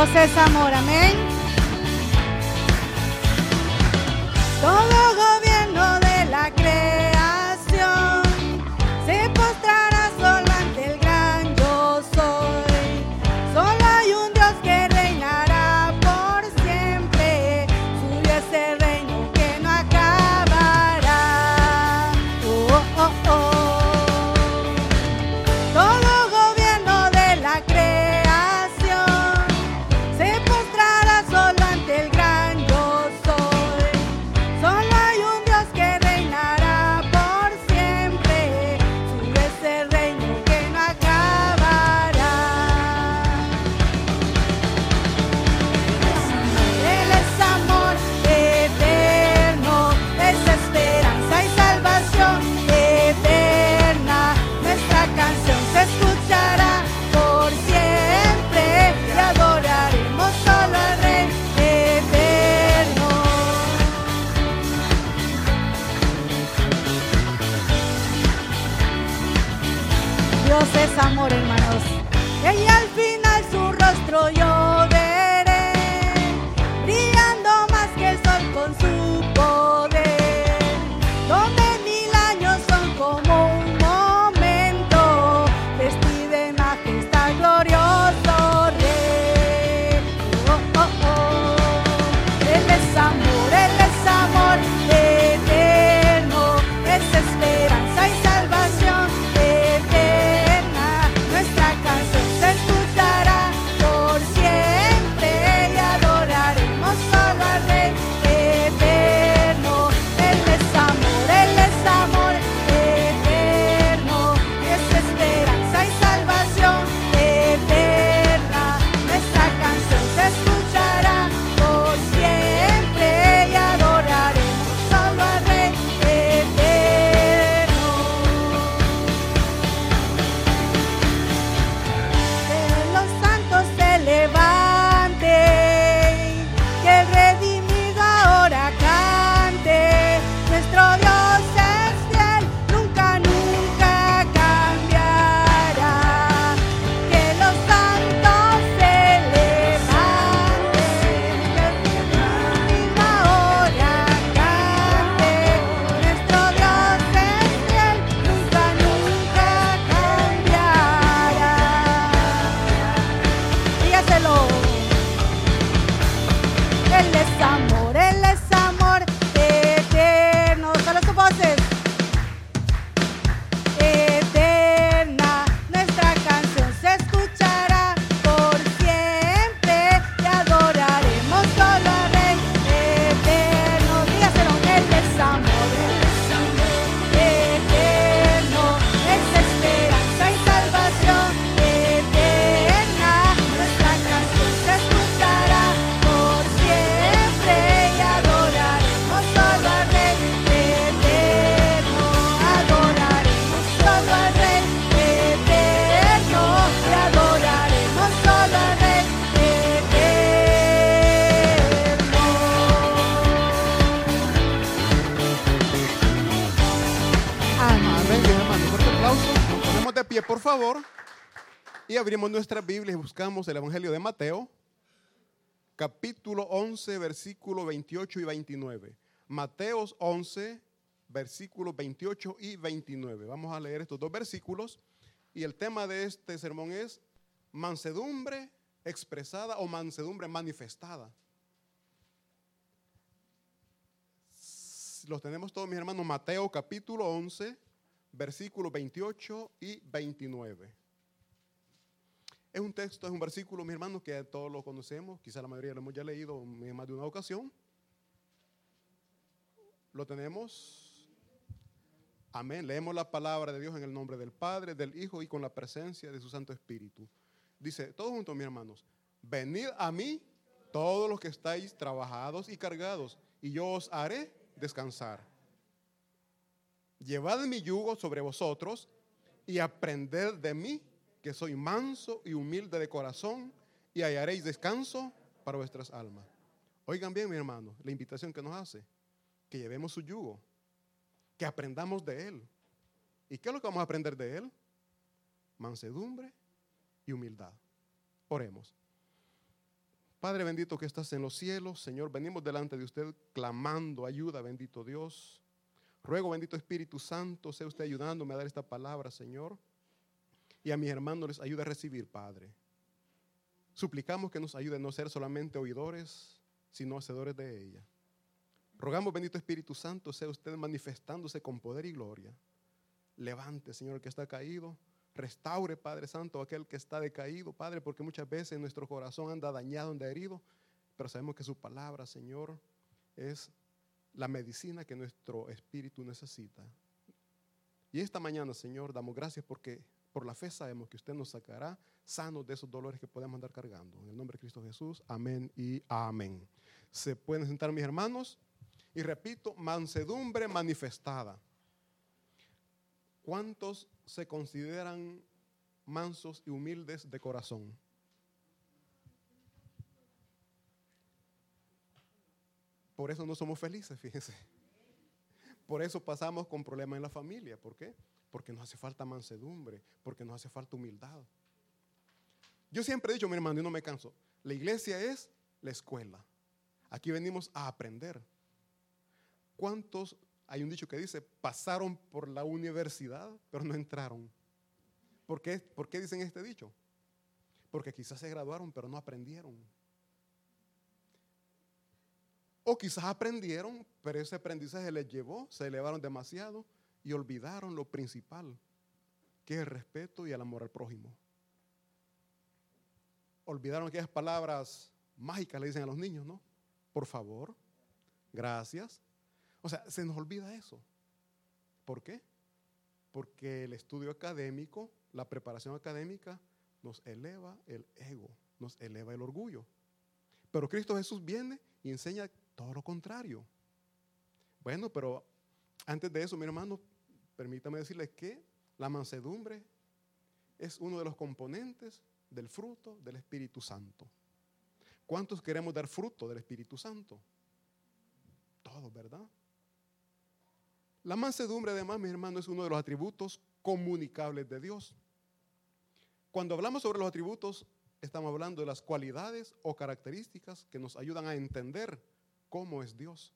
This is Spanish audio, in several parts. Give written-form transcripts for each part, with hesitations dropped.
Dios es amor, amén. Todo gobierno de la creación se postrará solo ante el gran yo soy. Solo hay un Dios que reinará por siempre. Suyo es el reino que no acabará. Oh, oh, oh. Todo gobierno de la creación se postrará solo ante el gran yo soy. Solo hay un Dios que reinará por siempre. Suyo es el reino que no acabará. Él es amor eterno, es esperanza y salvación eterna. Nuestra canción se escuchará por siempre y adoraremos solo al Rey eterno. Dios es amor, hermanos. Y al final su rostro yo veré, brillando más que el sol con su poder. Donde 1000 años son como un momento, vestido en majestad glorioso Rey. Oh, oh, oh. Él es amor eterno, es esperanza y salvación eterna. Nuestra canción se escuchará por siempre y adoraremos solo al Rey eterno. Él es amor eterno, es esperanza y salvación eterna. Nuestra canción se escuchará por siempre y adoraremos solo al Rey eterno. Que los santos se levanten, que el redimido ahora cante. Nuestro Dios es fiel, nunca, nunca cambiará. Que los santos se levanten, que el redimido ahora cante. Nuestro Dios es fiel, nunca, nunca cambiará. Dígaselo. Él es amor eterno. Solo sus voces. Eterna, nuestra canción se escuchará por siempre y adoraremos solo al Rey eterno. Dígaselo. Él es amor eterno, es esperanza y salvación eterna. Nuestra canción se escuchará por siempre y adoraremos solo al Rey eterno. Adoraremos solo al Rey eterno y adoraremos solo al Rey eterno. Amén. Amén, mis hermanos. Fuerte aplauso. Nos ponemos de pie, por favor. Y abrimos nuestras Biblias y buscamos el Evangelio de Mateo, capítulo 11, versículos 28 y 29. Mateos 11, versículos 28 y 29. Vamos a leer estos dos versículos. Y el tema de este sermón es mansedumbre expresada o mansedumbre manifestada. Los tenemos todos, mis hermanos. Mateo capítulo 11, versículos 28 y 29. Es un texto, es un versículo, mis hermanos, que todos lo conocemos. Quizá la mayoría lo hemos ya leído en más de una ocasión. Lo tenemos. Amén. Leemos la palabra de Dios en el nombre del Padre, del Hijo y con la presencia de su Santo Espíritu. Dice, todos juntos, mis hermanos, venid a mí todos los que estáis trabajados y cargados, y yo os haré descansar. Llevad mi yugo sobre vosotros y aprended de mí, que soy manso y humilde de corazón, y hallaréis descanso para vuestras almas. Oigan bien, mi hermano, la invitación que nos hace, que llevemos su yugo, que aprendamos de él. ¿Y qué es lo que vamos a aprender de él? Mansedumbre y humildad. Oremos. Padre bendito que estás en los cielos, Señor, venimos delante de usted clamando ayuda, bendito Dios. Ruego, bendito Espíritu Santo, sea usted ayudándome a dar esta palabra, Señor. Y a mis hermanos les ayude a recibir, Padre. Suplicamos que nos ayude a no ser solamente oidores, sino hacedores de ella. Rogamos, bendito Espíritu Santo, sea usted manifestándose con poder y gloria. Levante, Señor, el que está caído. Restaure, Padre Santo, aquel que está decaído, Padre, porque muchas veces nuestro corazón anda dañado, anda herido, pero sabemos que su palabra, Señor, es la medicina que nuestro espíritu necesita. Y esta mañana, Señor, damos gracias porque por la fe sabemos que usted nos sacará sanos de esos dolores que podemos andar cargando. En el nombre de Cristo Jesús, amén y amén. Se pueden sentar, mis hermanos, y repito, mansedumbre manifestada. ¿Cuántos se consideran mansos y humildes de corazón? Por eso no somos felices, fíjense. Por eso pasamos con problemas en la familia. ¿Por qué? Porque nos hace falta mansedumbre, porque nos hace falta humildad. Yo siempre he dicho, mi hermano, y no me canso, la iglesia es la escuela. Aquí venimos a aprender. ¿Cuántos, hay un dicho que dice, pasaron por la universidad, pero no entraron? ¿Por qué dicen este dicho? Porque quizás se graduaron, pero no aprendieron. O quizás aprendieron, pero ese aprendizaje les llevó, se elevaron demasiado y olvidaron lo principal, que es el respeto y el amor al prójimo. Olvidaron aquellas palabras mágicas, le dicen a los niños, ¿no? Por favor, gracias. O sea, se nos olvida eso. ¿Por qué? Porque el estudio académico, la preparación académica, nos eleva el ego, nos eleva el orgullo. Pero Cristo Jesús viene y enseña todo lo contrario. Bueno, pero antes de eso, mi hermano, permítame decirles que la mansedumbre es uno de los componentes del fruto del Espíritu Santo. ¿Cuántos queremos dar fruto del Espíritu Santo? Todos, ¿verdad? La mansedumbre, además, mi hermano, es uno de los atributos comunicables de Dios. Cuando hablamos sobre los atributos, estamos hablando de las cualidades o características que nos ayudan a entender cómo es Dios.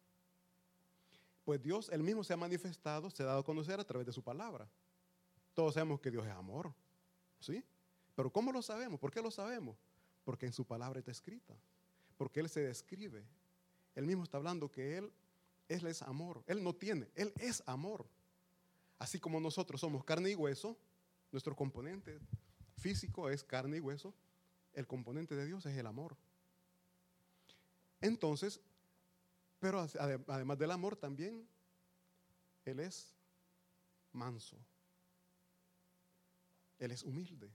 Pues Dios, Él mismo se ha manifestado, se ha dado a conocer a través de su palabra. Todos sabemos que Dios es amor, ¿sí? Pero ¿cómo lo sabemos? ¿Por qué lo sabemos? Porque en su palabra está escrita. Porque Él se describe. Él mismo está hablando que Él es amor. Él no tiene, Él es amor. Así como nosotros somos carne y hueso, nuestro componente físico es carne y hueso, el componente de Dios es el amor. Entonces, pero además del amor también, Él es manso. Él es humilde.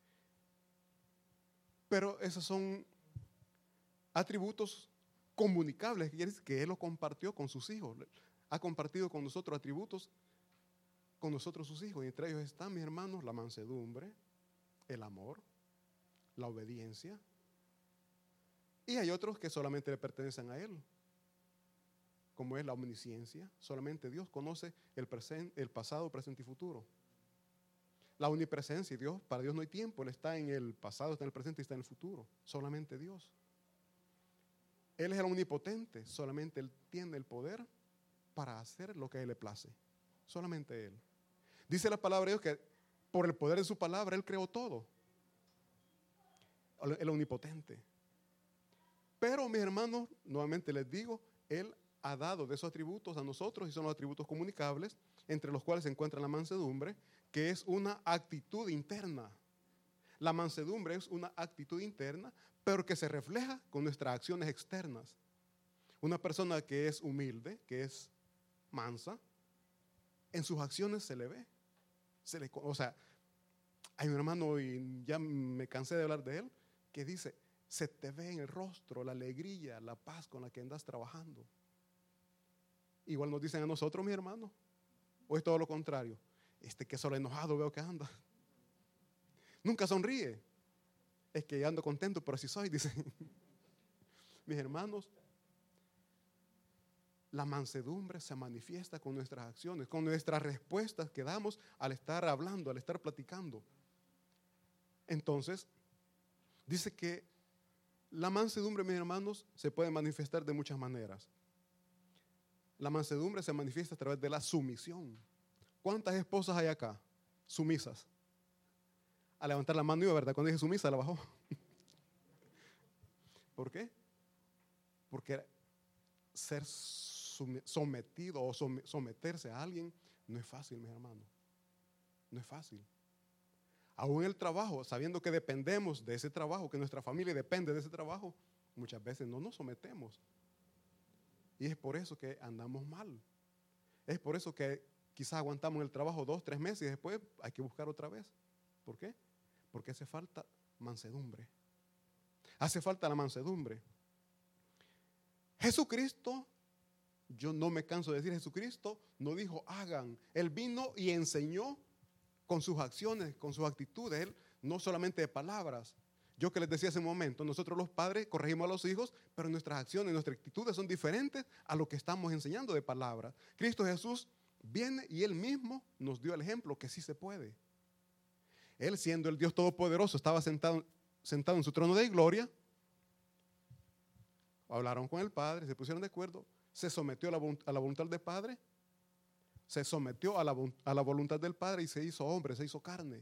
Pero esos son atributos comunicables, que Él lo compartió con sus hijos. Ha compartido con nosotros atributos, con nosotros sus hijos. Y entre ellos están, mis hermanos, la mansedumbre, el amor, la obediencia. Y hay otros que solamente le pertenecen a Él, como es la omnisciencia. Solamente Dios conoce el pasado, presente y futuro. La omnipresencia, para Dios no hay tiempo, Él está en el pasado, está en el presente y está en el futuro. Solamente Dios. Él es el omnipotente, solamente Él tiene el poder para hacer lo que a Él le place. Solamente Él. Dice la palabra de Dios que por el poder de su palabra Él creó todo. El omnipotente. Pero mis hermanos, nuevamente les digo, Él ha dado de esos atributos a nosotros y son los atributos comunicables, entre los cuales se encuentra la mansedumbre, que es una actitud interna. La mansedumbre es una actitud interna, pero que se refleja con nuestras acciones externas. Una persona que es humilde, que es mansa, en sus acciones se le ve. O sea, hay un hermano, y ya me cansé de hablar de él, que dice, se te ve en el rostro la alegría, la paz con la que andas trabajando. Igual nos dicen a nosotros, mis hermanos, o es todo lo contrario. Que solo enojado veo que anda. Nunca sonríe. Es que ando contento, pero así soy, dicen. Mis hermanos, la mansedumbre se manifiesta con nuestras acciones, con nuestras respuestas que damos al estar hablando, al estar platicando. Entonces, dice que La mansedumbre, mis hermanos, se puede manifestar de muchas maneras. La mansedumbre se manifiesta a través de la sumisión. ¿Cuántas esposas hay acá? Sumisas. A levantar la mano iba, ¿verdad? Cuando dije sumisa, la bajó. ¿Por qué? Porque ser sometido o someterse a alguien no es fácil, mis hermanos. No es fácil. Aún en el trabajo, sabiendo que dependemos de ese trabajo, que nuestra familia depende de ese trabajo, muchas veces no nos sometemos. Y es por eso que andamos mal. Es por eso que quizás aguantamos el trabajo 2, 3 meses y después hay que buscar otra vez. ¿Por qué? Porque hace falta mansedumbre. Hace falta la mansedumbre. Jesucristo, yo no me canso de decir, Jesucristo no dijo hagan. Él vino y enseñó con sus acciones, con sus actitudes. Él no solamente de palabras. Yo que les decía hace un momento, nosotros los padres corregimos a los hijos, pero nuestras acciones, nuestras actitudes son diferentes a lo que estamos enseñando de palabras. Cristo Jesús viene y Él mismo nos dio el ejemplo que sí se puede. Él, siendo el Dios Todopoderoso, estaba sentado en su trono de gloria. Hablaron con el Padre, se pusieron de acuerdo, se sometió a la voluntad del Padre, se sometió a la voluntad del Padre y se hizo hombre, se hizo carne.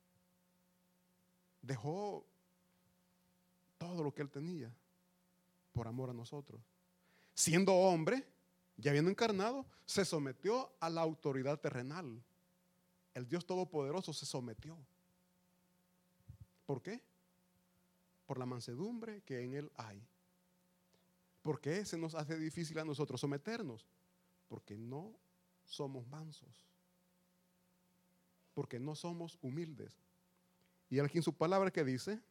Dejó todo lo que Él tenía por amor a nosotros. Siendo hombre, ya habiendo encarnado, se sometió a la autoridad terrenal. El Dios Todopoderoso se sometió. ¿Por qué? Por la mansedumbre que en Él hay. ¿Por qué se nos hace difícil a nosotros someternos? Porque no somos mansos. Porque no somos humildes. Y aquí en su palabra que dice,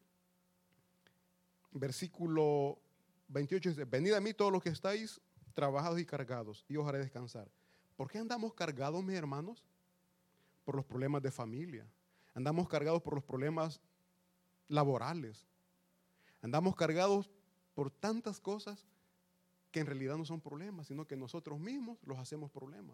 versículo 28 dice, venid a mí todos los que estáis trabajados y cargados, y os haré descansar. ¿Por qué andamos cargados, mis hermanos? Por los problemas de familia. Andamos cargados por los problemas laborales. Andamos cargados por tantas cosas que en realidad no son problemas, sino que nosotros mismos los hacemos problemas.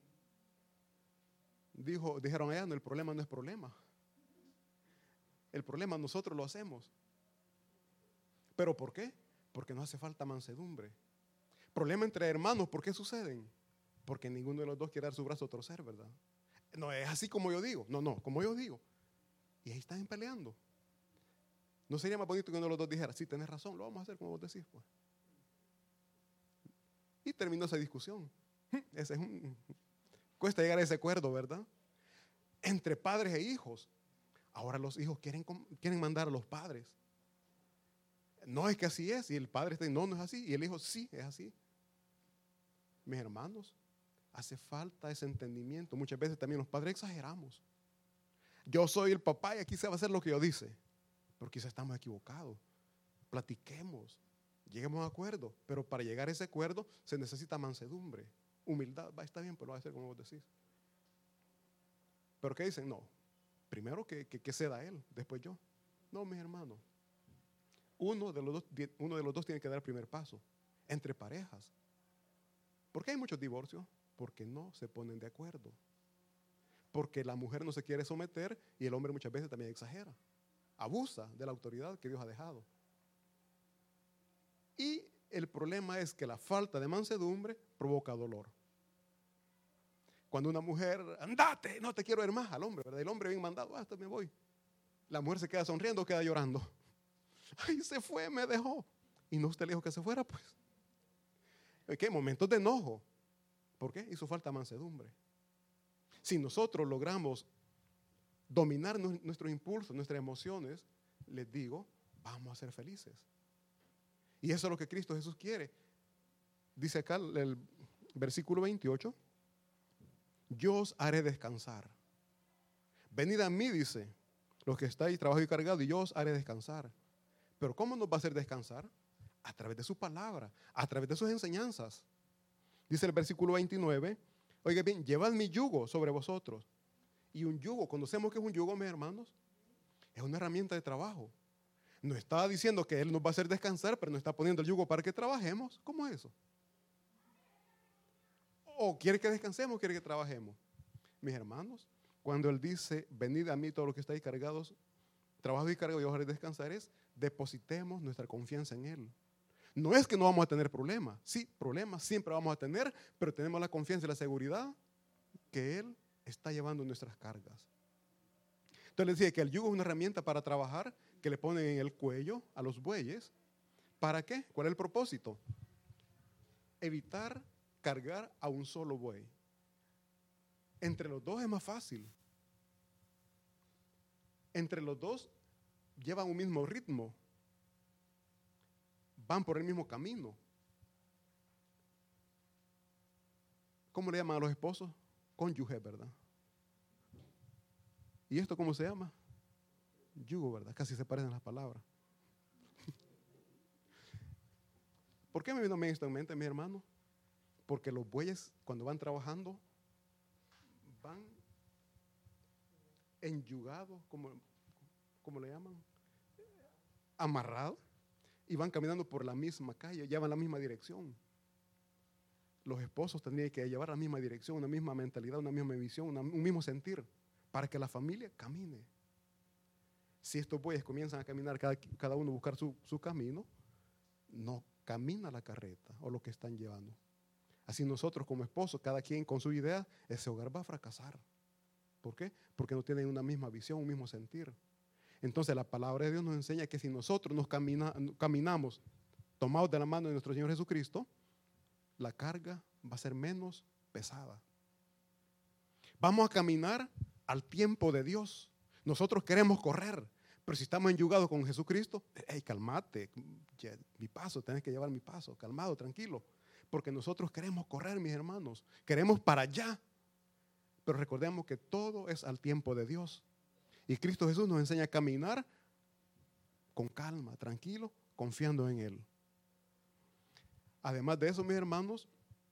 Dijeron allá, no, el problema no es problema. El problema nosotros lo hacemos. ¿Pero por qué? Porque nos hace falta mansedumbre. Problema entre hermanos, ¿por qué suceden? Porque ninguno de los dos quiere dar su brazo a torcer, ¿verdad? No es así como yo digo. No, como yo digo. Y ahí están peleando. ¿No sería más bonito que uno de los dos dijera, sí, tenés razón, lo vamos a hacer como vos decís, pues? Y terminó esa discusión. Cuesta llegar a ese acuerdo, ¿verdad? Entre padres e hijos. Ahora los hijos quieren mandar a los padres. No es que así es. Y el padre está diciendo, no es así. Y el hijo, sí, es así. Mis hermanos, hace falta ese entendimiento. Muchas veces también los padres exageramos. Yo soy el papá y aquí se va a hacer lo que yo dice. Pero quizás estamos equivocados. Platiquemos, lleguemos a acuerdo. Pero para llegar a ese acuerdo se necesita mansedumbre, humildad. Está bien, pero lo va a hacer como vos decís. Pero ¿qué dicen? No, primero que ceda él, después yo. No, mis hermanos. Uno de los dos tiene que dar el primer paso. Entre parejas. ¿Por qué hay muchos divorcios? Porque no se ponen de acuerdo. Porque la mujer no se quiere someter y el hombre muchas veces también exagera. Abusa de la autoridad que Dios ha dejado. Y el problema es que la falta de mansedumbre provoca dolor. Cuando una mujer, andate, no te quiero ver más al hombre, ¿verdad? El hombre bien mandado, hasta me voy. La mujer se queda sonriendo o queda llorando. Ay, se fue, me dejó. Y no usted le dijo que se fuera, pues. ¿Qué? Momentos de enojo. ¿Por qué? Hizo falta mansedumbre. Si nosotros logramos dominar nuestros impulsos, nuestras emociones, les digo, vamos a ser felices. Y eso es lo que Cristo Jesús quiere. Dice acá el versículo 28, yo os haré descansar. Venid a mí, dice, los que estáis trabajados y cargados, y yo os haré descansar. Pero ¿cómo nos va a hacer descansar? A través de su palabra, a través de sus enseñanzas. Dice el versículo 29, oiga bien, llevad mi yugo sobre vosotros. Y un yugo, conocemos que es un yugo, mis hermanos, es una herramienta de trabajo. No está diciendo que Él nos va a hacer descansar, pero nos está poniendo el yugo para que trabajemos. ¿Cómo es eso? ¿O quiere que descansemos o quiere que trabajemos? Mis hermanos, cuando Él dice, venid a mí todos los que estáis cargados trabajo y carga y hogar y descansar es depositemos nuestra confianza en Él. No es que no vamos a tener problemas. Sí, problemas siempre vamos a tener, pero tenemos la confianza y la seguridad que Él está llevando nuestras cargas. Entonces les decía que el yugo es una herramienta para trabajar que le ponen en el cuello a los bueyes. ¿Para qué? ¿Cuál es el propósito? Evitar cargar a un solo buey. Entre los dos es más fácil. Entre los dos llevan un mismo ritmo. Van por el mismo camino. ¿Cómo le llaman a los esposos? Cónyuge, ¿verdad? ¿Y esto cómo se llama? Yugo, ¿verdad? Casi se parecen las palabras. ¿Por qué me vino a mí esto en mente, mi hermano? Porque los bueyes, cuando van trabajando, van enyugados, como le llaman, amarrados, y van caminando por la misma calle, llevan la misma dirección. Los esposos tendrían que llevar la misma dirección, una misma mentalidad, una misma visión, un mismo sentir, para que la familia camine. Si estos bueyes comienzan a caminar, cada uno a buscar su camino, no camina la carreta o lo que están llevando. Así nosotros como esposos, cada quien con su idea, ese hogar va a fracasar. ¿Por qué? Porque no tienen una misma visión, un mismo sentir. Entonces la palabra de Dios nos enseña que si nosotros nos caminamos tomados de la mano de nuestro Señor Jesucristo, la carga va a ser menos pesada. Vamos a caminar al tiempo de Dios. Nosotros queremos correr, pero si estamos enyugados con Jesucristo, hey, calmate, mi paso, tienes que llevar mi paso, calmado, tranquilo. Porque nosotros queremos correr, mis hermanos, queremos para allá. Pero recordemos que todo es al tiempo de Dios. Y Cristo Jesús nos enseña a caminar con calma, tranquilo, confiando en Él. Además de eso, mis hermanos,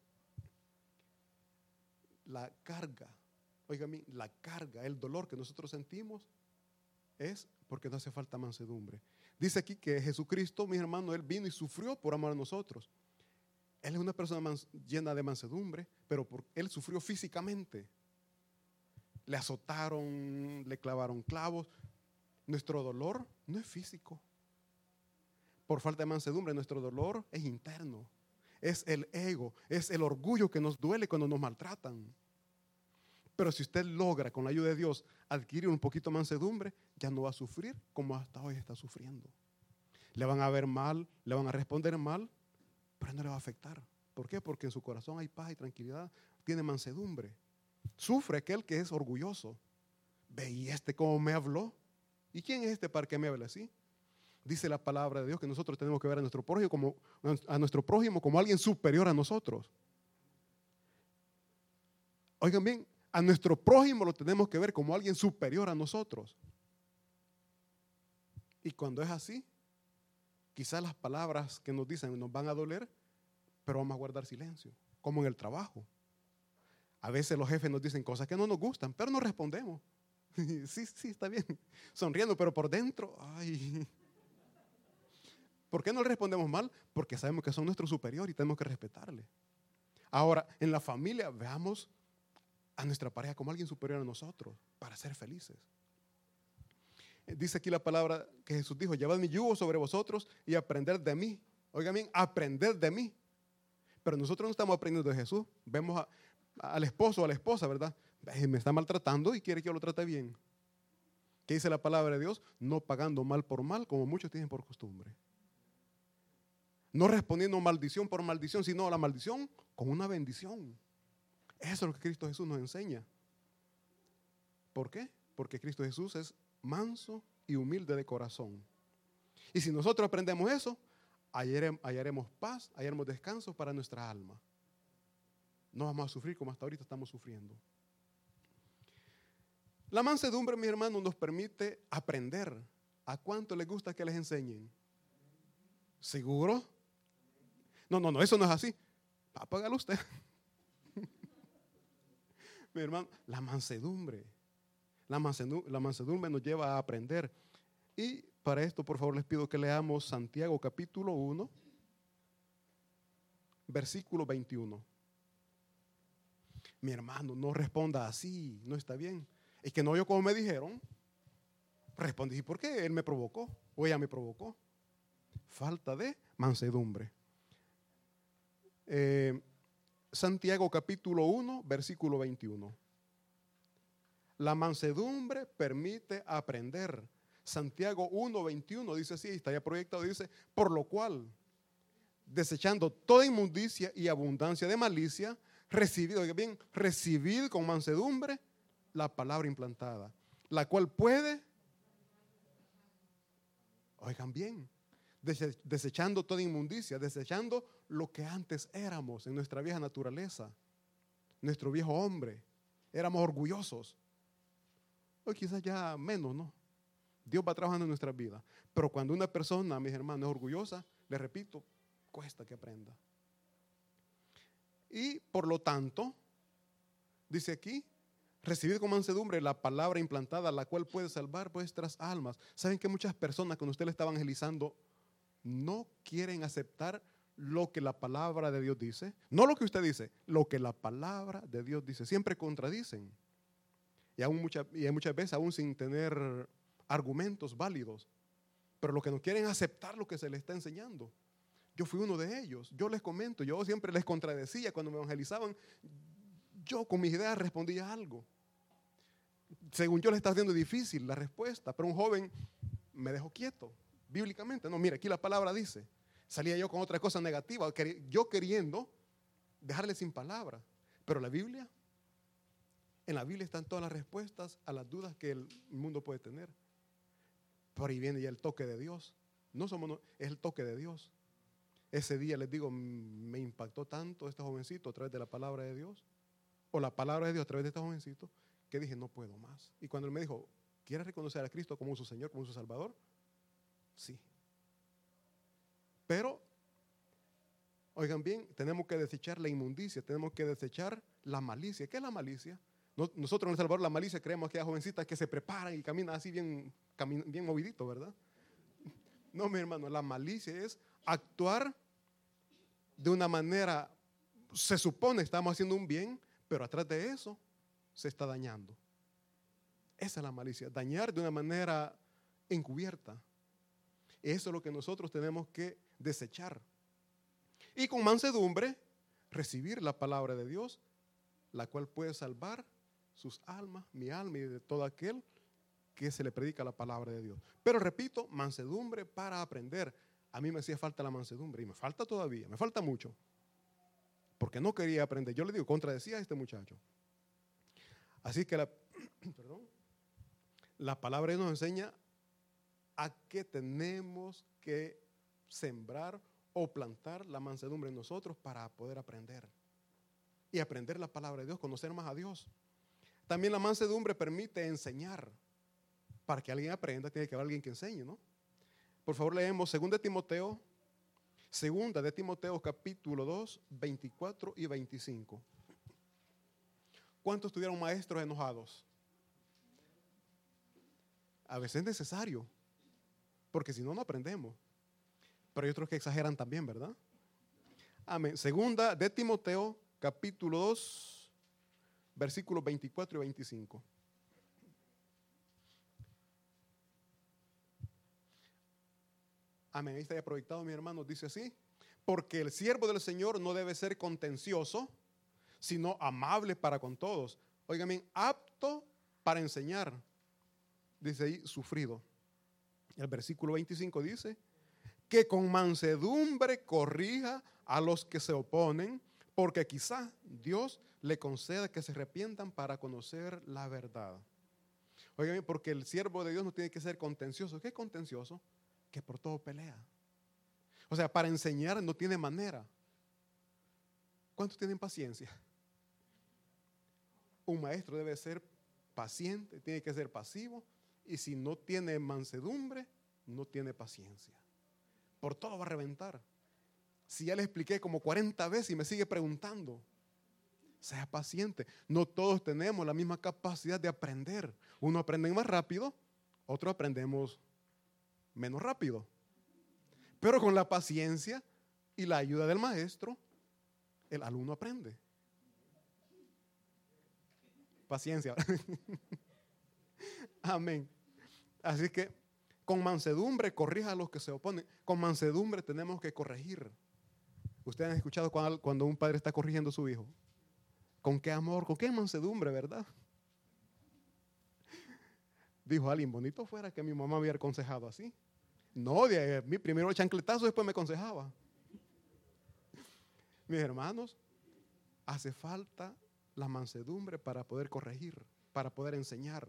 la carga, oigan, la carga, el dolor que nosotros sentimos es porque no hace falta mansedumbre. Dice aquí que Jesucristo, mis hermanos, Él vino y sufrió por amor a nosotros. Él es una persona llena de mansedumbre, pero Él sufrió físicamente. Le azotaron, le clavaron clavos. Nuestro dolor no es físico. Por falta de mansedumbre, nuestro dolor es interno. Es el ego, es el orgullo que nos duele cuando nos maltratan. Pero si usted logra, con la ayuda de Dios, adquirir un poquito de mansedumbre, ya no va a sufrir como hasta hoy está sufriendo. Le van a ver mal, le van a responder mal, pero no le va a afectar. ¿Por qué? Porque en su corazón hay paz y tranquilidad, tiene mansedumbre. Sufre aquel que es orgulloso. Ve, ¿y este cómo me habló? ¿Y quién es este para que me hable así? Dice la palabra de Dios que nosotros tenemos que ver a nuestro prójimo como alguien superior a nosotros. Oigan bien, a nuestro prójimo lo tenemos que ver como alguien superior a nosotros. Y cuando es así, quizás las palabras que nos dicen nos van a doler, pero vamos a guardar silencio, como en el trabajo. A veces los jefes nos dicen cosas que no nos gustan, pero no respondemos. Sí, está bien, sonriendo, pero por dentro, ay. ¿Por qué no le respondemos mal? Porque sabemos que son nuestro superior y tenemos que respetarle. Ahora, en la familia, veamos a nuestra pareja como alguien superior a nosotros para ser felices. Dice aquí la palabra que Jesús dijo: llevad mi yugo sobre vosotros y aprended de mí. Oigan bien, aprended de mí. Pero nosotros no estamos aprendiendo de Jesús. Vemos al esposo o a la esposa, ¿verdad? Me está maltratando y quiere que yo lo trate bien. ¿Qué dice la palabra de Dios? No pagando mal por mal, como muchos tienen por costumbre. No respondiendo maldición por maldición, sino a la maldición con una bendición. Eso es lo que Cristo Jesús nos enseña. ¿Por qué? Porque Cristo Jesús es manso y humilde de corazón. Y si nosotros aprendemos eso, hallaremos paz, hallaremos descanso para nuestra alma. No vamos a sufrir como hasta ahorita estamos sufriendo. La mansedumbre, mis hermanos, nos permite aprender. ¿A cuánto les gusta que les enseñen? ¿Seguro? No, eso no es así. Apágalo usted. Mi hermano, la mansedumbre nos lleva a aprender. Y para esto, por favor, les pido que leamos Santiago capítulo 1, versículo 21. Mi hermano, no responda así, no está bien. Es que no oyó como me dijeron. Respondí, ¿y por qué él me provocó? O ella me provocó. Falta de mansedumbre. Santiago capítulo 1, versículo 21. La mansedumbre permite aprender. Santiago 1, 21 dice así, está ya proyectado, dice, por lo cual, desechando toda inmundicia y abundancia de malicia, recibid con mansedumbre la palabra implantada, la cual puede, oigan bien, desechando toda inmundicia, desechando lo que antes éramos en nuestra vieja naturaleza, nuestro viejo hombre, éramos orgullosos. Hoy quizás ya menos, ¿no? Dios va trabajando en nuestras vidas. Pero cuando una persona, mis hermanos, es orgullosa, le repito, cuesta que aprenda. Y por lo tanto, dice aquí, recibid con mansedumbre la palabra implantada, la cual puede salvar vuestras almas. ¿Saben que muchas personas cuando usted le está evangelizando no quieren aceptar lo que la palabra de Dios dice? No lo que usted dice, lo que la palabra de Dios dice. Siempre contradicen. Y hay muchas veces aún sin tener argumentos válidos. Pero lo que no quieren es aceptar lo que se les está enseñando. Yo fui uno de ellos. Yo les comento, yo siempre les contradecía cuando me evangelizaban. Yo con mis ideas respondía algo. Según yo le estaba haciendo difícil la respuesta, pero un joven me dejó quieto. Bíblicamente, no, mira, aquí la palabra dice. Salía yo con otra cosa negativa, yo queriendo dejarle sin palabra. Pero la Biblia, en la Biblia están todas las respuestas a las dudas que el mundo puede tener. Por ahí viene ya el toque de Dios. Es el toque de Dios. Ese día les digo, me impactó tanto este jovencito a través de la palabra de Dios, o la palabra de Dios a través de este jovencito, que dije, no puedo más. Y cuando él me dijo, ¿quieres reconocer a Cristo como su Señor, como su Salvador? Sí. Pero, oigan bien, tenemos que desechar la inmundicia, tenemos que desechar la malicia. ¿Qué es la malicia? Nosotros en El Salvador la malicia creemos que hay jovencitas que se preparan y caminan así bien moviditos, ¿verdad? No, mi hermano, la malicia es actuar de una manera, se supone estamos haciendo un bien, pero atrás de eso se está dañando. Esa es la malicia, dañar de una manera encubierta. Eso es lo que nosotros tenemos que desechar. Y con mansedumbre, recibir la palabra de Dios, la cual puede salvar sus almas, mi alma y de todo aquel que se le predica la palabra de Dios. Pero repito, mansedumbre para aprender. A mí me hacía falta la mansedumbre y me falta todavía, me falta mucho. Porque no quería aprender. Yo le digo, contradecía a este muchacho. Así que la palabra nos enseña a que tenemos que sembrar o plantar la mansedumbre en nosotros para poder aprender. Y aprender la palabra de Dios, conocer más a Dios. También la mansedumbre permite enseñar. Para que alguien aprenda, tiene que haber alguien que enseñe, ¿no? Por favor, leemos 2 de Timoteo capítulo 2, 24 y 25. ¿Cuántos tuvieron maestros enojados? A veces es necesario, porque si no, no aprendemos. Pero hay otros que exageran también, ¿verdad? Amén. 2 de Timoteo capítulo 2, versículos 24 y 25. Amén, ahí está ya proyectado, mi hermano, dice así: porque el siervo del Señor no debe ser contencioso, sino amable para con todos. Oigan bien, apto para enseñar. Dice ahí, sufrido. El versículo 25 dice, que con mansedumbre corrija a los que se oponen, porque quizá Dios le conceda que se arrepientan para conocer la verdad. Oigan bien, porque el siervo de Dios no tiene que ser contencioso. ¿Qué es contencioso? Que por todo pelea. O sea, para enseñar no tiene manera. ¿Cuántos tienen paciencia? Un maestro debe ser paciente, tiene que ser pasivo, y si no tiene mansedumbre, no tiene paciencia. Por todo va a reventar. Si ya le expliqué como 40 veces y me sigue preguntando, sea paciente. No todos tenemos la misma capacidad de aprender. Uno aprende más rápido, otro aprendemos menos rápido. Pero con la paciencia y la ayuda del maestro, el alumno aprende. Paciencia. Amén. Así que con mansedumbre corrija a los que se oponen. Con mansedumbre tenemos que corregir. Ustedes han escuchado cuando un padre está corrigiendo a su hijo. ¿Con qué amor? ¿Con qué mansedumbre, verdad? Dijo alguien, bonito fuera que mi mamá me hubiera aconsejado así. No, mi primero el chancletazo, después me aconsejaba. Mis hermanos, hace falta la mansedumbre para poder corregir, para poder enseñar.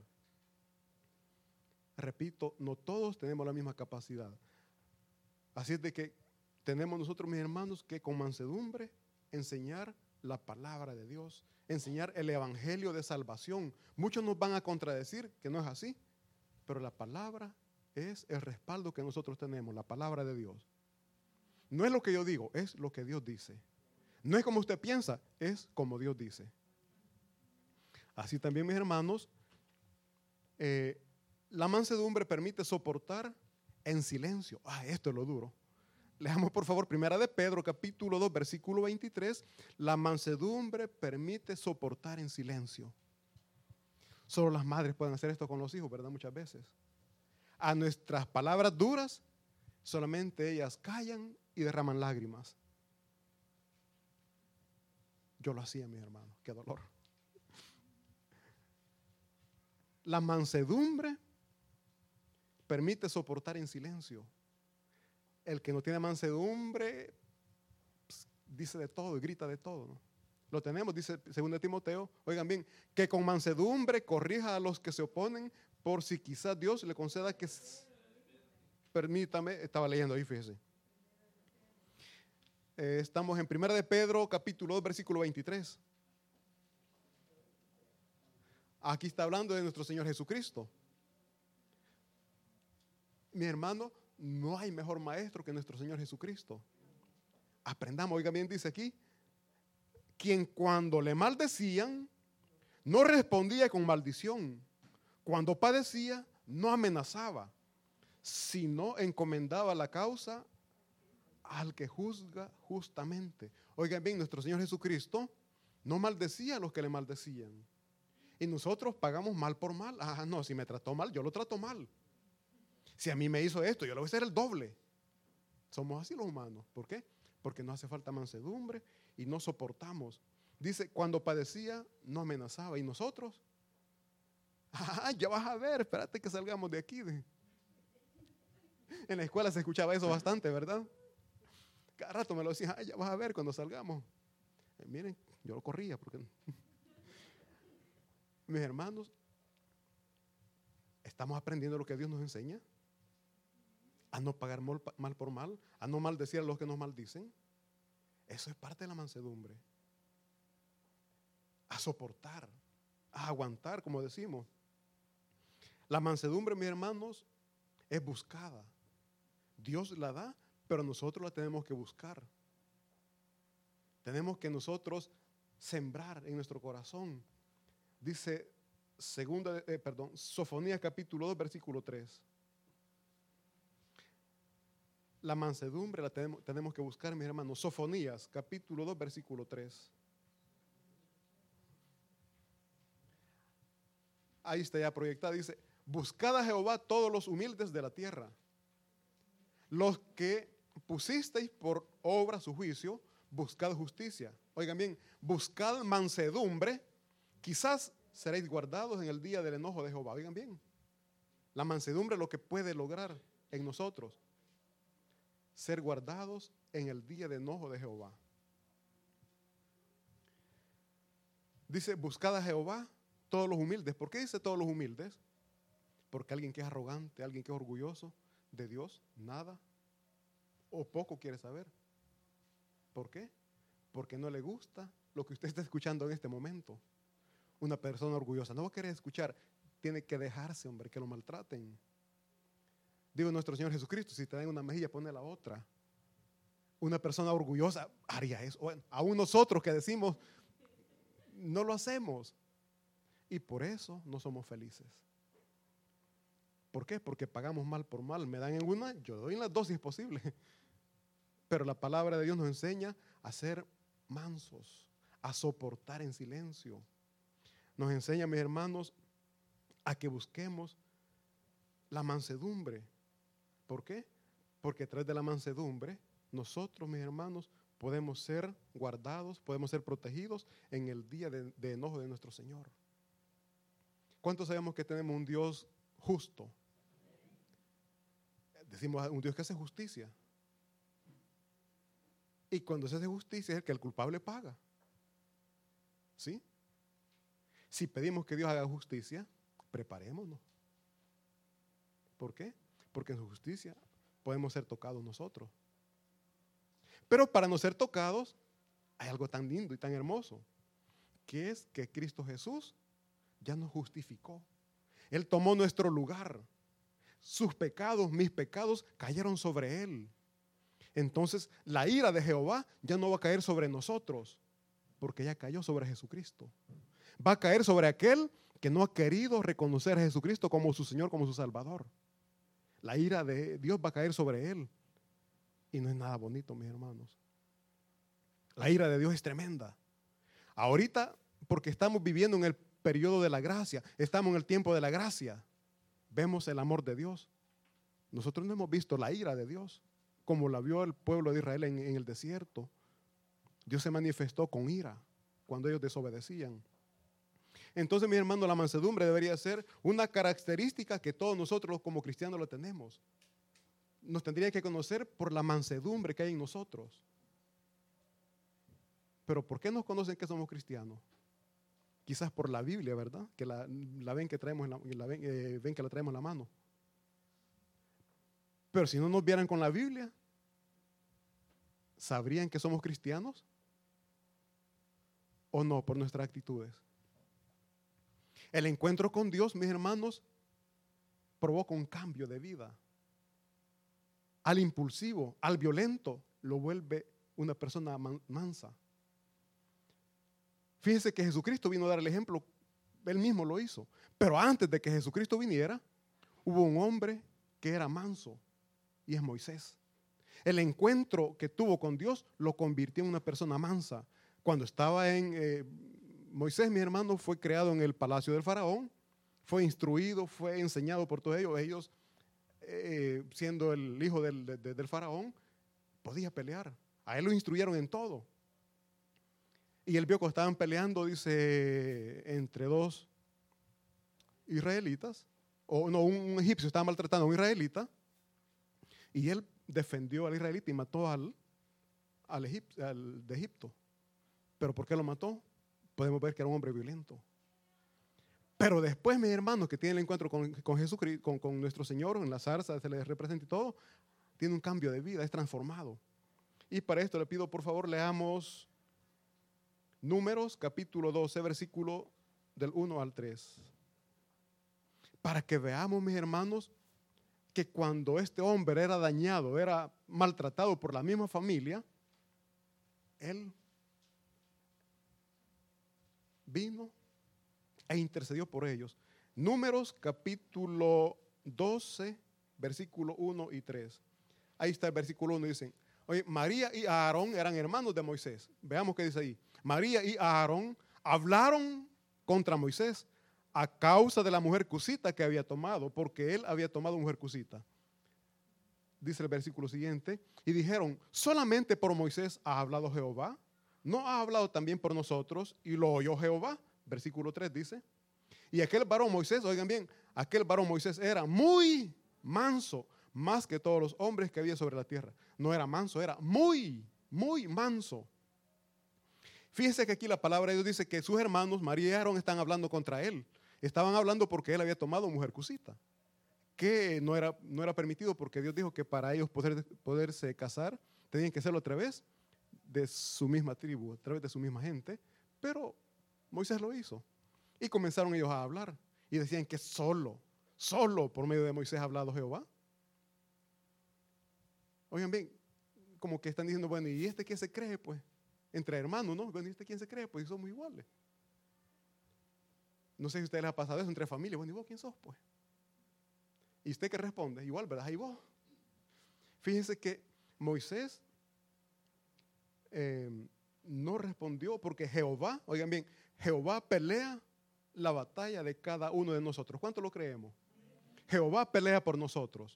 Repito, no todos tenemos la misma capacidad. Así es de que tenemos nosotros, mis hermanos, que con mansedumbre enseñar la palabra de Dios, enseñar el evangelio de salvación. Muchos nos van a contradecir que no es así, pero la palabra es el respaldo que nosotros tenemos, la palabra de Dios. No es lo que yo digo, es lo que Dios dice. No es como usted piensa, es como Dios dice. Así también, mis hermanos, la mansedumbre permite soportar en silencio. Esto es lo duro. Leamos por favor 1 de Pedro capítulo 2 versículo 23. La mansedumbre permite soportar en silencio. Solo las madres pueden hacer esto con los hijos, ¿verdad? Muchas veces. A nuestras palabras duras, solamente ellas callan y derraman lágrimas. Yo lo hacía, mis hermanos. Qué dolor. La mansedumbre permite soportar en silencio. El que no tiene mansedumbre dice de todo y grita de todo, ¿no? Lo tenemos, dice 2 Timoteo, oigan bien, que con mansedumbre corrija a los que se oponen, por si quizás Dios le conceda que... Permítame, estaba leyendo ahí, fíjese. Estamos en 1 de Pedro, capítulo 2, versículo 23. Aquí está hablando de nuestro Señor Jesucristo. Mi hermano, no hay mejor maestro que nuestro Señor Jesucristo. Aprendamos, oiga bien, dice aquí, quien cuando le maldecían, no respondía con maldición. Cuando padecía, no amenazaba, sino encomendaba la causa al que juzga justamente. Oigan bien, nuestro Señor Jesucristo no maldecía a los que le maldecían. Y nosotros pagamos mal por mal. No, si me trató mal, yo lo trato mal. Si a mí me hizo esto, yo le voy a hacer el doble. Somos así los humanos. ¿Por qué? Porque nos hace falta mansedumbre y no soportamos. Dice, cuando padecía, no amenazaba. ¿Y nosotros? Ya vas a ver, espérate que salgamos de aquí. En la escuela se escuchaba eso bastante, ¿verdad? Cada rato me lo decían, ya vas a ver cuando salgamos. Miren, yo lo corría porque... Mis hermanos, ¿estamos aprendiendo lo que Dios nos enseña? A no pagar mal por mal, a no maldecir a los que nos maldicen. Eso es parte de la mansedumbre. A soportar, a aguantar, como decimos. La mansedumbre, mis hermanos, es buscada. Dios la da, pero nosotros la tenemos que buscar. Tenemos que nosotros sembrar en nuestro corazón. Dice Sofonías capítulo 2, versículo 3. La mansedumbre la tenemos que buscar, mis hermanos. Sofonías capítulo 2, versículo 3. Ahí está ya proyectada. Dice, buscad a Jehová todos los humildes de la tierra, los que pusisteis por obra su juicio, buscad justicia. Oigan bien, buscad mansedumbre, quizás seréis guardados en el día del enojo de Jehová. Oigan bien, la mansedumbre es lo que puede lograr en nosotros ser guardados en el día de enojo de Jehová. Dice, buscad a Jehová todos los humildes. ¿Por qué dice todos los humildes? Porque alguien que es arrogante, alguien que es orgulloso de Dios, nada o poco quiere saber. ¿Por qué? Porque no le gusta lo que usted está escuchando en este momento. Una persona orgullosa no va a querer escuchar, tiene que dejarse, hombre, que lo maltraten. Digo nuestro Señor Jesucristo, si te dan una mejilla, pone la otra. Una persona orgullosa haría eso. Bueno, aún nosotros que decimos, no lo hacemos. Y por eso no somos felices. ¿Por qué? Porque pagamos mal por mal. Me dan en una, yo doy en las dos si es posible. Pero la palabra de Dios nos enseña a ser mansos, a soportar en silencio. Nos enseña, mis hermanos, a que busquemos la mansedumbre. ¿Por qué? Porque a través de la mansedumbre nosotros, mis hermanos, podemos ser guardados, podemos ser protegidos en el día de enojo de nuestro Señor. ¿Cuántos sabemos que tenemos un Dios justo? Decimos un Dios que hace justicia. Y cuando se hace justicia es el que el culpable paga. ¿Sí? Si pedimos que Dios haga justicia, preparémonos. ¿Por qué? Porque en su justicia podemos ser tocados nosotros. Pero para no ser tocados, hay algo tan lindo y tan hermoso, que es que Cristo Jesús ya nos justificó. Él tomó nuestro lugar. Sus pecados, mis pecados, cayeron sobre Él. Entonces, la ira de Jehová ya no va a caer sobre nosotros, porque ya cayó sobre Jesucristo. Va a caer sobre aquel que no ha querido reconocer a Jesucristo como su Señor, como su Salvador. La ira de Dios va a caer sobre él. Y no es nada bonito, mis hermanos. La ira de Dios es tremenda. Ahorita, porque estamos viviendo en el periodo de la gracia, estamos en el tiempo de la gracia, vemos el amor de Dios. Nosotros no hemos visto la ira de Dios, como la vio el pueblo de Israel en el desierto. Dios se manifestó con ira cuando ellos desobedecían. Entonces, mis hermanos, la mansedumbre debería ser una característica que todos nosotros como cristianos lo tenemos. Nos tendría que conocer por la mansedumbre que hay en nosotros. Pero ¿por qué nos conocen que somos cristianos? Quizás por la Biblia, ¿verdad? Que la ven que traemos ven que la traemos en la mano. Pero si no nos vieran con la Biblia, ¿sabrían que somos cristianos? ¿O no? Por nuestras actitudes. El encuentro con Dios, mis hermanos, provoca un cambio de vida. Al impulsivo, al violento, lo vuelve una persona mansa. Fíjense que Jesucristo vino a dar el ejemplo, él mismo lo hizo. Pero antes de que Jesucristo viniera, hubo un hombre que era manso, y es Moisés. El encuentro que tuvo con Dios lo convirtió en una persona mansa. Cuando estaba Moisés, mi hermano, fue creado en el palacio del faraón, fue instruido, fue enseñado por todos ellos, siendo el hijo del faraón, podía pelear. A él lo instruyeron en todo. Y él vio que estaban peleando, dice, entre dos israelitas, o no, un egipcio estaba maltratando a un israelita, y él defendió al israelita y mató al de Egipto. ¿Pero por qué lo mató? Podemos ver que era un hombre violento. Pero después, mis hermanos, que tienen el encuentro con Jesucristo, con nuestro Señor, en la zarza, se les representa y todo, tiene un cambio de vida, es transformado. Y para esto le pido, por favor, leamos Números, capítulo 12, versículo del 1 al 3. Para que veamos, mis hermanos, que cuando este hombre era dañado, era maltratado por la misma familia, él vino e intercedió por ellos. Números capítulo 12, versículo 1 y 3. Ahí está el versículo 1, dicen, oye, María y Aarón eran hermanos de Moisés. Veamos qué dice ahí. María y Aarón hablaron contra Moisés a causa de la mujer cusita que había tomado, porque él había tomado mujer cusita. Dice el versículo siguiente, y dijeron, solamente por Moisés ha hablado Jehová, ¿no ha hablado también por nosotros? Y lo oyó Jehová. Versículo 3 dice, y aquel varón Moisés, oigan bien, aquel varón Moisés era muy manso, más que todos los hombres que había sobre la tierra. No era manso, era muy, muy manso. Fíjense que aquí la palabra de Dios dice que sus hermanos, María y Aarón, están hablando contra él. Estaban hablando porque él había tomado mujer cusita, que no era permitido, porque Dios dijo que para ellos poderse casar, tenían que hacerlo a través de su misma tribu, a través de su misma gente, pero Moisés lo hizo. Y comenzaron ellos a hablar y decían que solo por medio de Moisés ha hablado Jehová. Oigan bien, como que están diciendo, bueno, ¿y este quién se cree? Pues, entre hermanos, ¿no? Bueno, ¿y este quién se cree? Pues somos iguales. No sé si a ustedes les ha pasado eso entre familias. Bueno, ¿y vos quién sos? Pues. ¿Y usted qué responde? Igual, ¿verdad? ¿Y vos? Fíjense que Moisés no respondió porque Jehová, oigan bien, Jehová pelea la batalla de cada uno de nosotros. ¿Cuánto lo creemos? Jehová pelea por nosotros.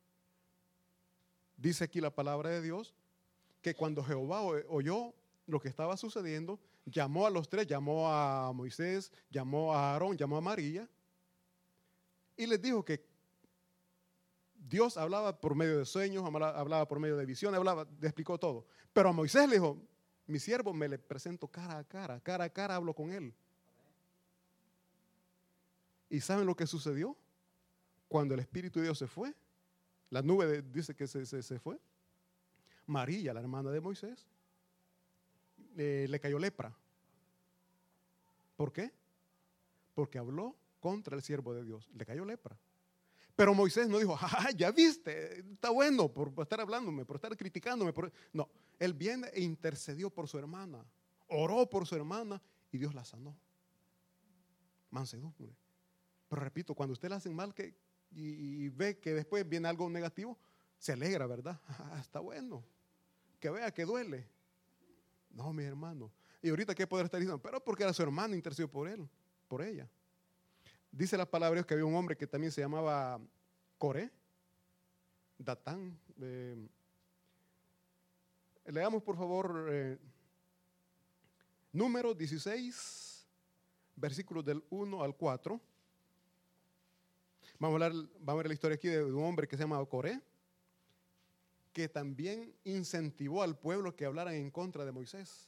Dice aquí la palabra de Dios que cuando Jehová oyó lo que estaba sucediendo, llamó a los tres, llamó a Moisés, llamó a Aarón, llamó a María y les dijo que Dios hablaba por medio de sueños, hablaba por medio de visiones, le explicó todo. Pero a Moisés le dijo, mi siervo me le presento cara a cara hablo con él. ¿Y saben lo que sucedió? Cuando el Espíritu de Dios se fue, la nube dice que se fue. María, la hermana de Moisés, le cayó lepra. ¿Por qué? Porque habló contra el siervo de Dios. Le cayó lepra. Pero Moisés no dijo, ya viste, está bueno por estar hablándome, por estar criticándome. No, él viene e intercedió por su hermana, oró por su hermana y Dios la sanó. Mansedumbre. Pero repito, cuando usted le hacen mal y ve que después viene algo negativo, se alegra, ¿verdad? Está bueno. Que vea que duele. No, mi hermano. Y ahorita qué poder estar diciendo, pero porque era su hermano, intercedió por él, por ella. Dice la palabra de Dios que había un hombre que también se llamaba Coré, Datán. Leamos por favor Números 16, versículos del 1 al 4. Vamos a ver la historia aquí de un hombre que se llama Coré, que también incentivó al pueblo que hablaran en contra de Moisés.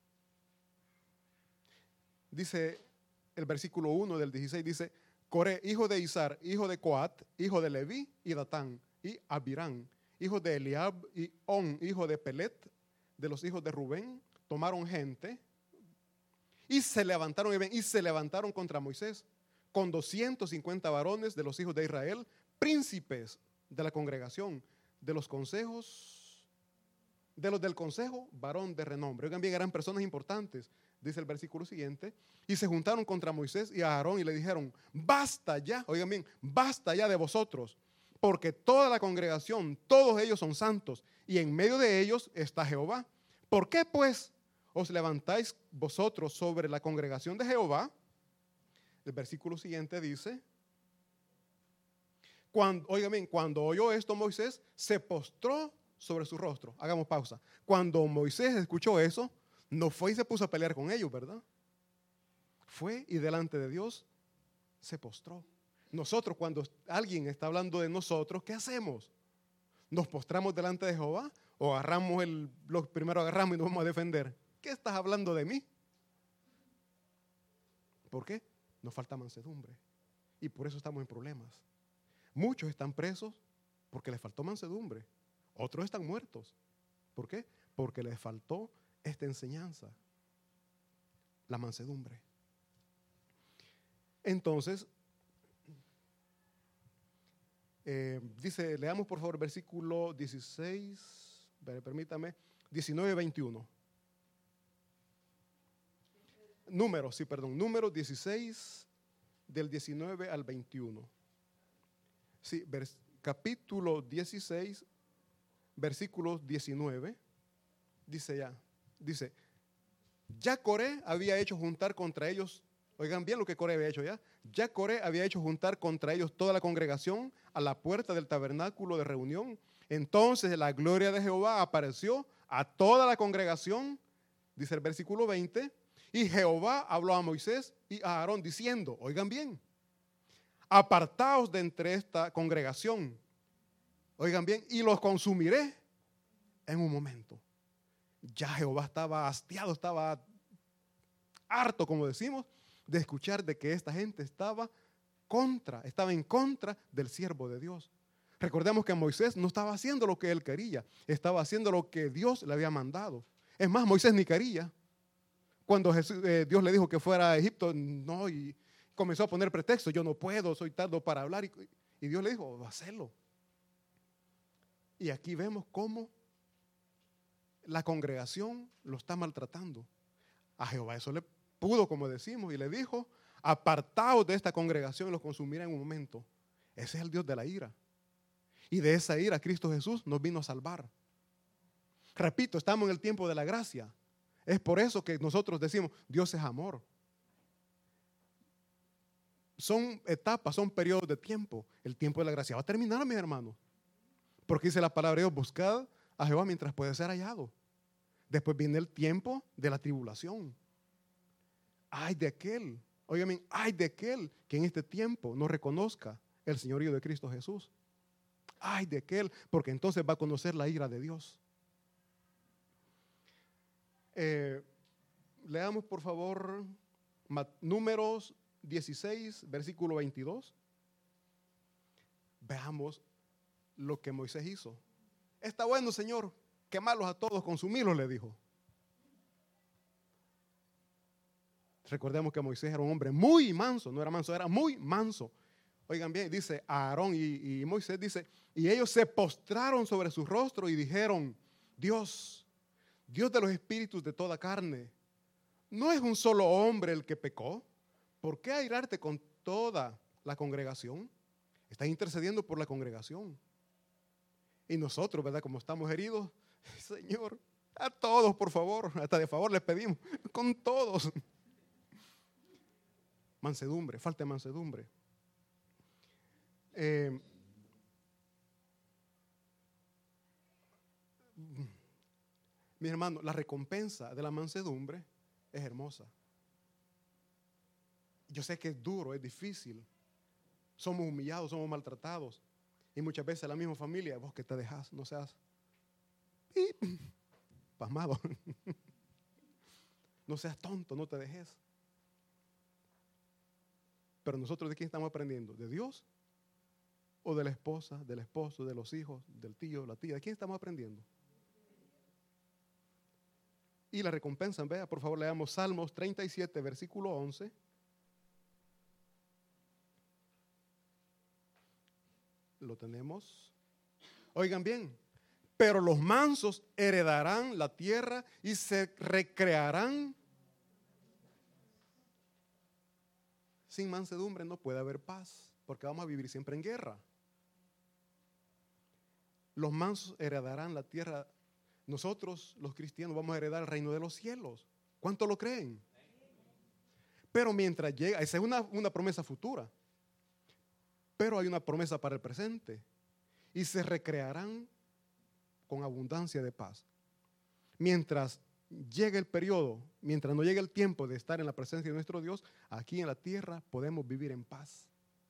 Dice el versículo 1 del 16, dice, Coré, hijo de Izar, hijo de Coat, hijo de Leví y Datán, y Abirán, hijo de Eliab, y On, hijo de Pelet, de los hijos de Rubén, tomaron gente y se levantaron contra Moisés con 250 varones de los hijos de Israel, príncipes de la congregación, de los del consejo, varón de renombre. Oigan bien, eran personas importantes, dice el versículo siguiente, y se juntaron contra Moisés y a Aarón y le dijeron, basta ya, oigan bien, basta ya de vosotros, porque toda la congregación, todos ellos son santos, y en medio de ellos está Jehová. ¿Por qué pues os levantáis vosotros sobre la congregación de Jehová? El versículo siguiente dice, cuando oyó esto Moisés, se postró sobre su rostro. Hagamos pausa. Cuando Moisés escuchó eso, no fue y se puso a pelear con ellos, ¿verdad? Fue y delante de Dios se postró. Nosotros, cuando alguien está hablando de nosotros, ¿qué hacemos? ¿Nos postramos delante de Jehová o lo primero agarramos y nos vamos a defender? ¿Qué estás hablando de mí? ¿Por qué? Nos falta mansedumbre y por eso estamos en problemas. Muchos están presos porque les faltó mansedumbre. Otros están muertos. ¿Por qué? Porque les faltó esta enseñanza, la mansedumbre. Entonces, dice, leamos por favor versículo 16, permítame, 19 y 21. Número 16, del 19 al 21. Sí, capítulo 16, versículos 19, dice, ya Coré había hecho juntar contra ellos, oigan bien lo que Coré había hecho ya Coré había hecho juntar contra ellos toda la congregación a la puerta del tabernáculo de reunión. Entonces la gloria de Jehová apareció a toda la congregación, dice el versículo 20, y Jehová habló a Moisés y a Aarón diciendo, oigan bien, apartaos de entre esta congregación, oigan bien, y los consumiré en un momento. Ya Jehová estaba hastiado, estaba harto, como decimos, de escuchar de que esta gente estaba en contra del siervo de Dios. Recordemos que Moisés no estaba haciendo lo que él quería, estaba haciendo lo que Dios le había mandado. Es más, Moisés ni quería. Cuando Dios le dijo que fuera a Egipto, no, y comenzó a poner pretextos, yo no puedo, soy tardo para hablar, y Dios le dijo, hazlo. Y aquí vemos cómo la congregación lo está maltratando. A Jehová eso le pudo, como decimos, y le dijo, apartaos de esta congregación y los consumirá en un momento. Ese es el Dios de la ira. Y de esa ira Cristo Jesús nos vino a salvar. Repito, estamos en el tiempo de la gracia. Es por eso que nosotros decimos, Dios es amor. son etapas, son periodos de tiempo. El tiempo de la gracia va a terminar, mis hermanos. Porque dice la palabra de Dios, buscad a Jehová mientras puede ser hallado. Después viene el tiempo de la tribulación. Ay de aquel, óigame, ay de aquel que en este tiempo no reconozca el señorío de Cristo Jesús. Ay de aquel, porque entonces va a conocer la ira de Dios. Leamos por favor Números 16, versículo 22. Veamos lo que Moisés hizo. Está bueno, Señor, quemarlos a todos, consumirlos, le dijo. Recordemos que Moisés era un hombre muy manso, no era manso, era muy manso. Oigan bien, dice Aarón y Moisés, dice, y ellos se postraron sobre su rostro y dijeron, Dios de los espíritus de toda carne, ¿no es un solo hombre el que pecó? ¿Por qué airarte con toda la congregación? Estás intercediendo por la congregación. Y nosotros, ¿verdad? Como estamos heridos, Señor, a todos, por favor, hasta de favor les pedimos, con todos. Mansedumbre, falta de mansedumbre. Mi hermano, la recompensa de la mansedumbre es hermosa. Yo sé que es duro, es difícil. Somos humillados, somos maltratados. Y muchas veces la misma familia, vos que te dejas, no seas pasmado. No seas tonto, no te dejes. Pero nosotros, ¿de quién estamos aprendiendo? ¿De Dios? ¿O de la esposa, del esposo, de los hijos, del tío, la tía? ¿De quién estamos aprendiendo? Y la recompensa, vea, por favor, leamos Salmos 37, versículo 11. Lo tenemos. Oigan bien, pero los mansos heredarán la tierra y se recrearán. Sin mansedumbre no puede haber paz, porque vamos a vivir siempre en guerra. Los mansos heredarán la tierra. Nosotros, los cristianos, vamos a heredar el reino de los cielos. ¿Cuánto lo creen? Pero mientras llega, esa es una promesa futura. Pero hay una promesa para el presente. Y se recrearán con abundancia de paz. Mientras llegue el periodo, mientras no llegue el tiempo de estar en la presencia de nuestro Dios, aquí en la tierra podemos vivir en paz.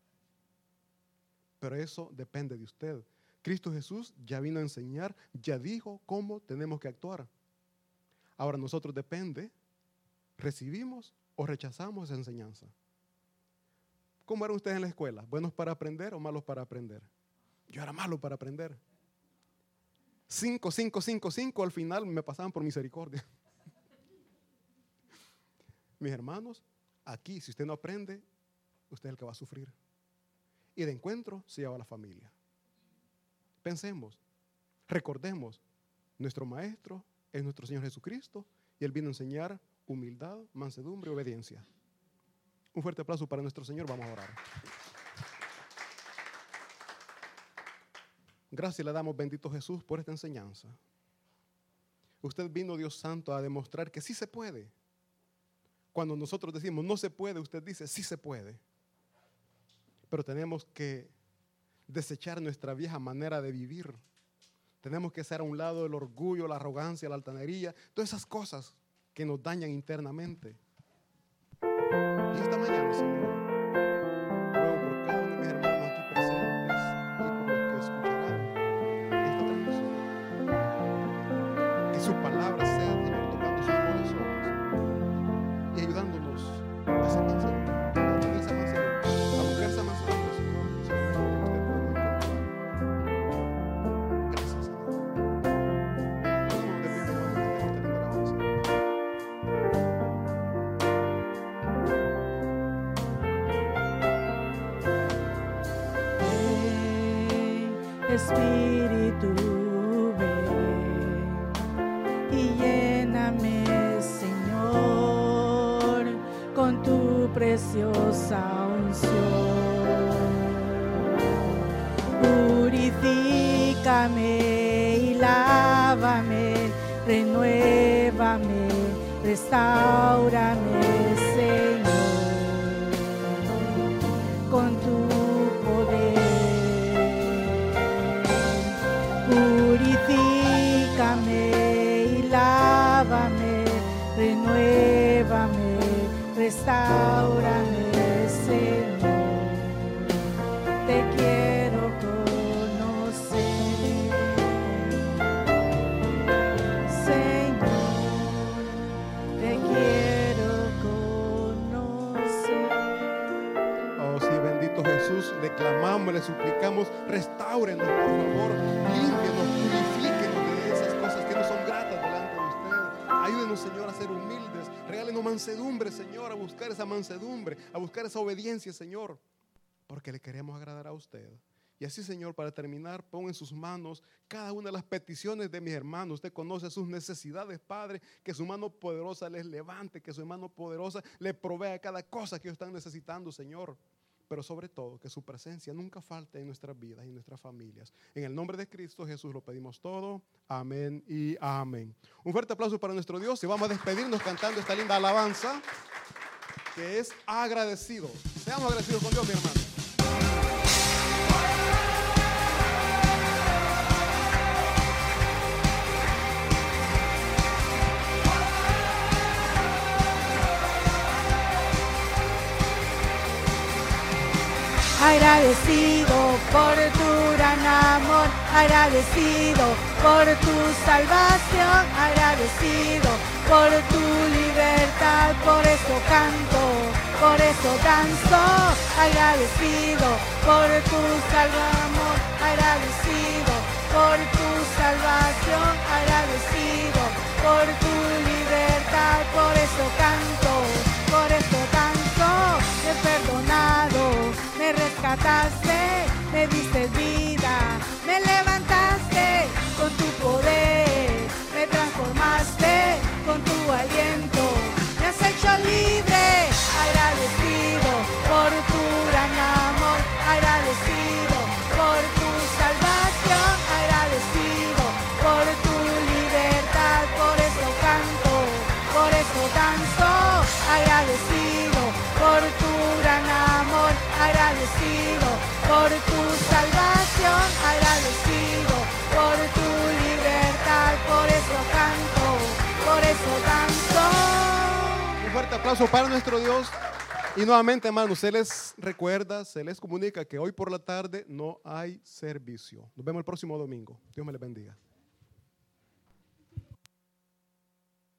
Pero eso depende de usted. Cristo Jesús ya vino a enseñar, ya dijo cómo tenemos que actuar. Ahora nosotros depende, recibimos o rechazamos esa enseñanza. ¿Cómo eran ustedes en la escuela? ¿Buenos para aprender o malos para aprender? Yo era malo para aprender. 5, al final me pasaban por misericordia. Mis hermanos, aquí si usted no aprende, usted es el que va a sufrir. Y de encuentro se lleva a la familia. Pensemos, recordemos, nuestro maestro es nuestro Señor Jesucristo y Él vino a enseñar humildad, mansedumbre y obediencia. Un fuerte aplauso para nuestro Señor, vamos a orar. Gracias le damos, bendito Jesús, por esta enseñanza. Usted vino, Dios Santo, a demostrar que sí se puede. Cuando nosotros decimos no se puede, usted dice sí se puede. Pero tenemos que desechar nuestra vieja manera de vivir. Tenemos que hacer a un lado el orgullo, la arrogancia, la altanería, todas esas cosas que nos dañan internamente. Y esta mañana, Señor, ruego por cada uno de mis hermanos aquí presentes y por los que escucharán esta transmisión, que su palabra sea, Señor, tocando sus corazones y ayudándonos a esa mansedumbre, a tener esa mansedumbre, a buscar esa mansedumbre, Señor, solamente que usted podemos encontrar. Gracias, Señor. Pongámonos de pie, mi hermano, cantemos esta linda alabanza. Espíritu, ven y lléname, Señor, con tu preciosa unción. Purifícame y lávame, renuévame, restáurame, Señor. Purifícame y lávame, renuévame, restáurame, Señor. Te quiero conocer, Señor. Te quiero conocer. Oh, sí, bendito Jesús, le clamamos, le suplicamos, restáurenos, por favor, límpienos, purifíquenos de esas cosas que no son gratas delante de usted. Ayúdenos, Señor, a ser humildes, regálenos mansedumbre, Señor, a buscar esa mansedumbre, a buscar esa obediencia, Señor, porque le queremos agradar a usted. Y así, Señor, para terminar, pon en sus manos cada una de las peticiones de mis hermanos. Usted conoce sus necesidades, Padre, que su mano poderosa les levante, que su mano poderosa les provea cada cosa que ellos están necesitando, Señor. Pero sobre todo, que su presencia nunca falte en nuestras vidas y en nuestras familias. En el nombre de Cristo Jesús lo pedimos todo. Amén y amén. Un fuerte aplauso para nuestro Dios y vamos a despedirnos cantando esta linda alabanza que es agradecido. Seamos agradecidos con Dios, mi hermano. Agradecido por tu gran amor, agradecido por tu salvación, agradecido por tu libertad, por eso canto, por eso danzo, agradecido por tu amor, agradecido por tu salvación, agradecido por tu libertad, por eso canto, por eso danzo, me he perdonado. Me rescataste, me diste vida, me levantaste con tu poder, me transformaste con tu aliento, me has hecho libre, agradecido por tu gran amor, agradecido por tu salvación, agradecido por tu libertad, por eso canto, por eso danzo, agradecido por tu gran amor, agradecido por tu salvación, agradecido por tu libertad, por eso canto, por eso danzo. Un fuerte aplauso para nuestro Dios. Y nuevamente, hermanos, se les recuerda, se les comunica que hoy por la tarde no hay servicio. Nos vemos el próximo domingo. Dios me les bendiga.